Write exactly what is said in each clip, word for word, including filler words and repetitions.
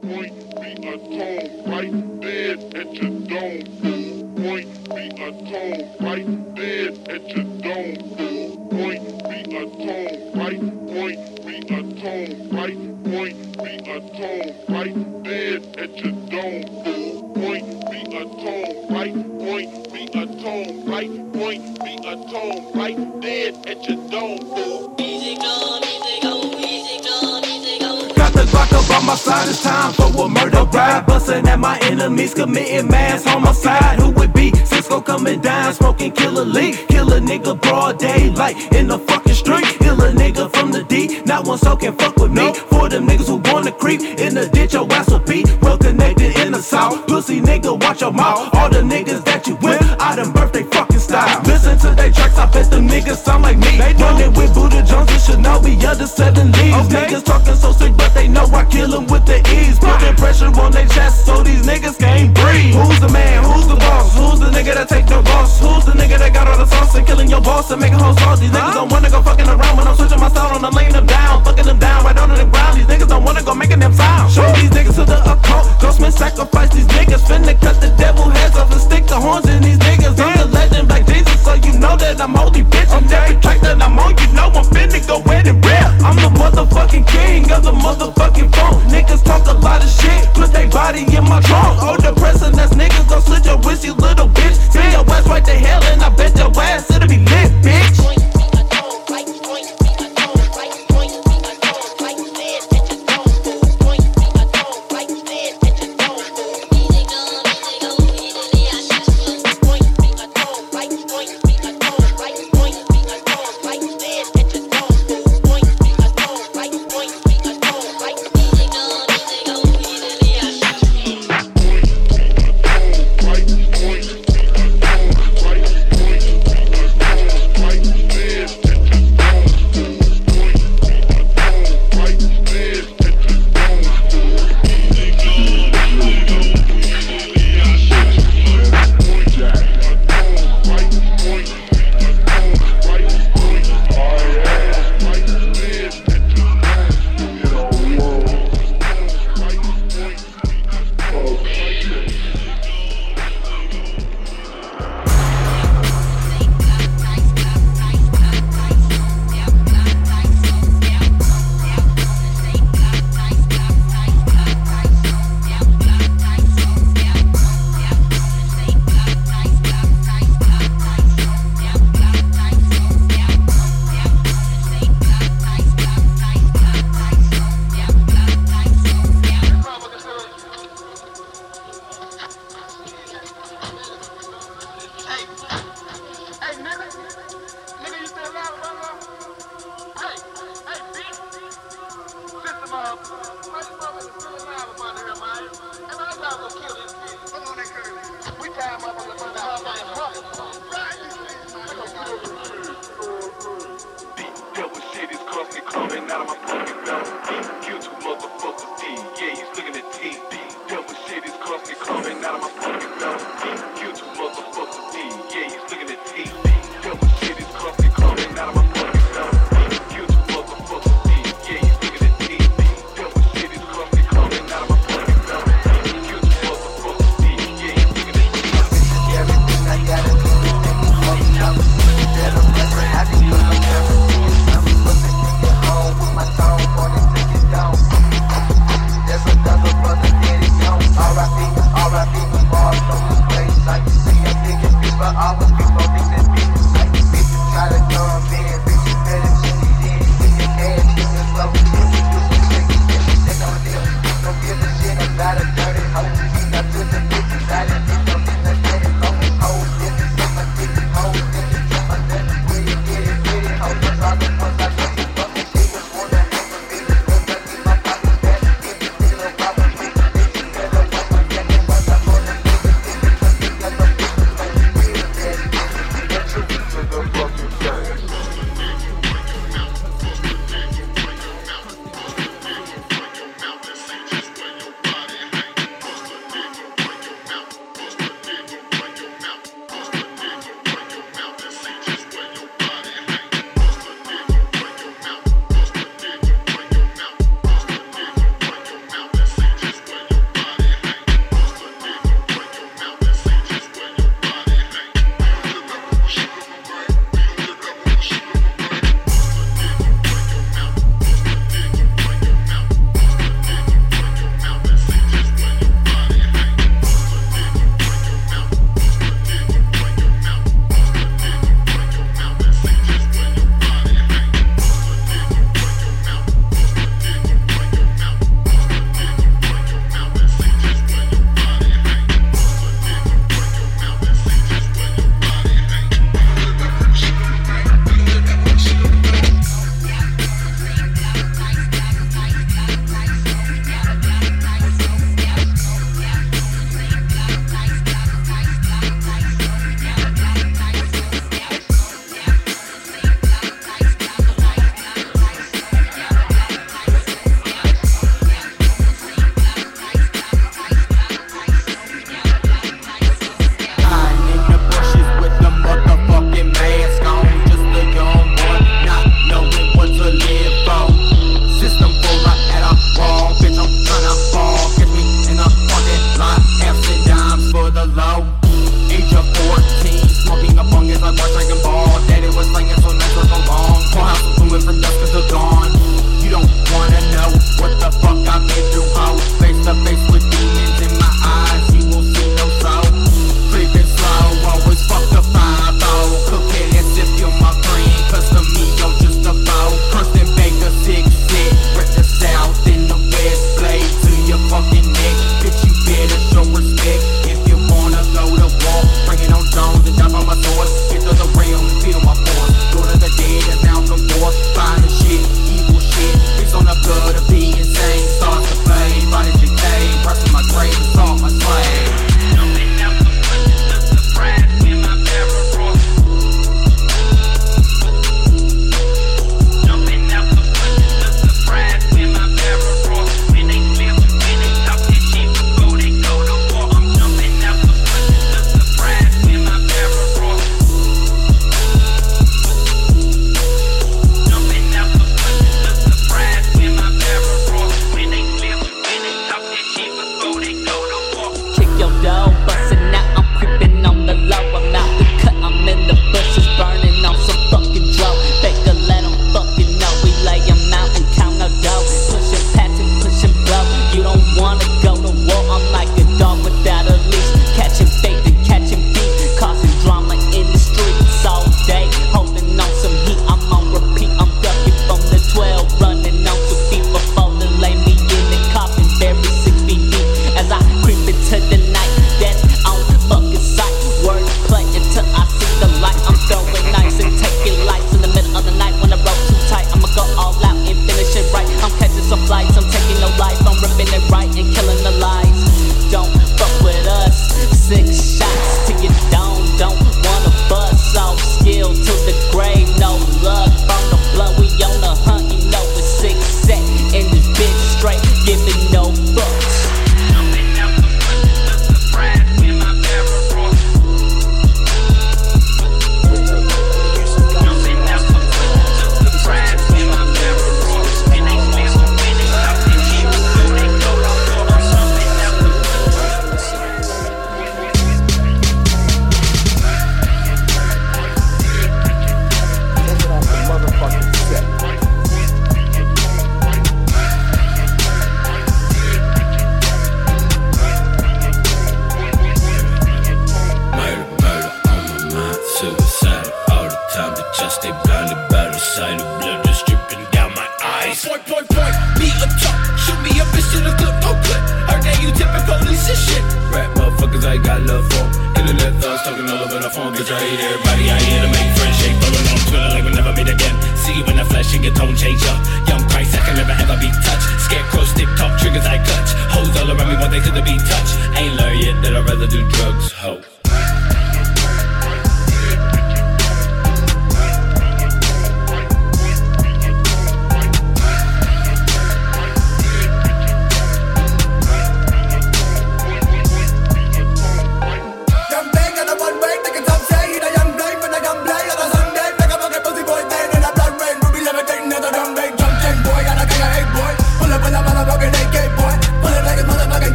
point be a tone right dead at your dome. Point be a tone right dead at your dome. Point be a tone right. Point be a tone right. Point be a tone right dead at your dome. Point be a tone right. Point be a tone right. Point be a tone right dead at your dome. Easy come, easy go, easy come, easy go. Got the Glock up on my side, it's time for a murder ride. Bustin' at my enemies, committing mass homicide. Who would be? Cisco coming down, smoking killer leak. Kill a nigga broad daylight in the fucking street. Kill a nigga from the D, not one soul can fuck with me. For them niggas who wanna creep in the ditch, your ass will be well connected in the south. Pussy nigga, watch your mouth. All the niggas that you with, I done birth they fucking style. Listen to they tracks, I bet them niggas sound like me. Running with Buddha Jones and Shinobi, other seven leaves. Okay. Niggas talking so sick, but they know I kill them with the ease. Putting pressure on their chest so these niggas can't breathe. Who's the man? Who's the boss? Who's the nigga that take no loss? Who's the nigga that got all the sauce and killing your boss and making whole sauce? These niggas don't wanna go fucking around when I'm switching my sound on. I'm laying them down, fucking them down right on the ground. These niggas don't wanna go making them sound. Show these niggas to the occult. Ghostman sacrifice these niggas. Finna cut the devil heads off and stick the horns in these niggas. I'm the legend like Jesus, so you know that I'm holy bitch. On every track that I'm on, you know I'm finna go ahead and rip. I'm the motherfucking king of the motherfucking phone. Niggas talk a lot of shit, put they body in my trunk. Oh, depressing ass niggas gon' slit your wrist, you little bitch. See your ass right to hell and I bet your ass it'll be lit, bitch. Home with my song on it. piece of shit. Rap motherfuckers, I got love for. Internet thugs talking all over the phone. Bitch, I hate everybody. I here to make friends. Shake following on Twitter like we never meet again. See you in the flesh and your tone change up. Young Christ, I can never ever be touched. Scarecrow, stick talk, triggers I clutch. Hoes all around me want they could be touched. Ain't learned yet that I'd rather do drugs, ho.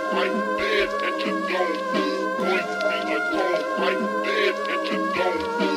Right dead at your door.